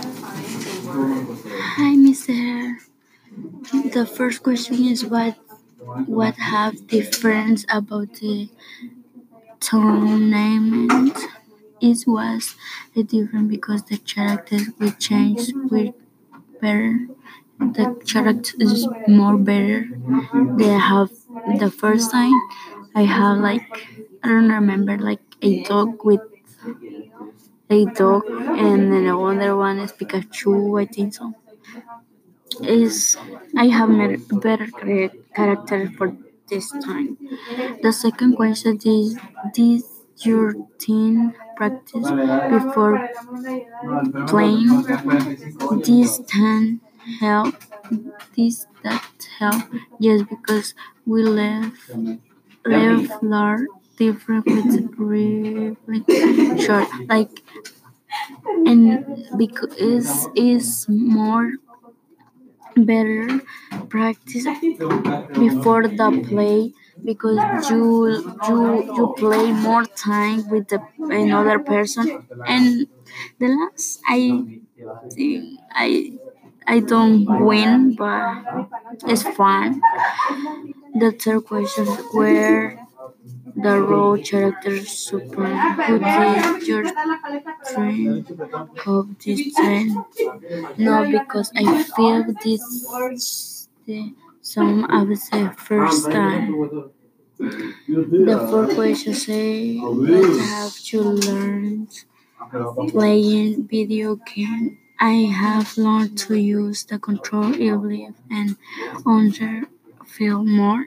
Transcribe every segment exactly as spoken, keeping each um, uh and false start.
Hi, mister The first question is what what have difference about the tournament? It was a different because the characters will change with better. The character is more better. They have the first time I have like I don't remember like a dog with a dog and then the other one is Pikachu. I think so. Is I have met better chara- character for this time. The second question is did your team practice before playing? This can help. This that help. Yes, because we live live large different with really short like and because is is more better practice before the play because you you you play more time with the another person and the last I think I I don't win but it's fun. The third question where the role character super who did your dream of this trend? No, because I feel this the some of the first time. The fourth question say what have you learned playing video game? I have learned to use the control easily and under feel more.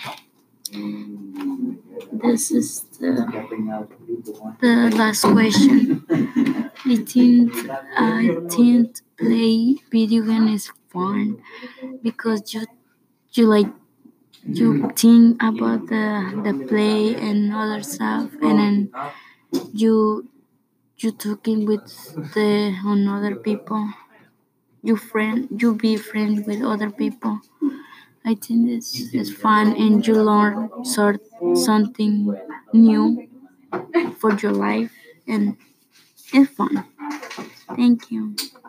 This is the, the last question. I think I think play video game is fun because you you like you think about the the play and other stuff and then you you talking with the on other people. You friend you be friend with other people. I think it's it's fun and you learn sort something new for your life and it's fun. Thank you.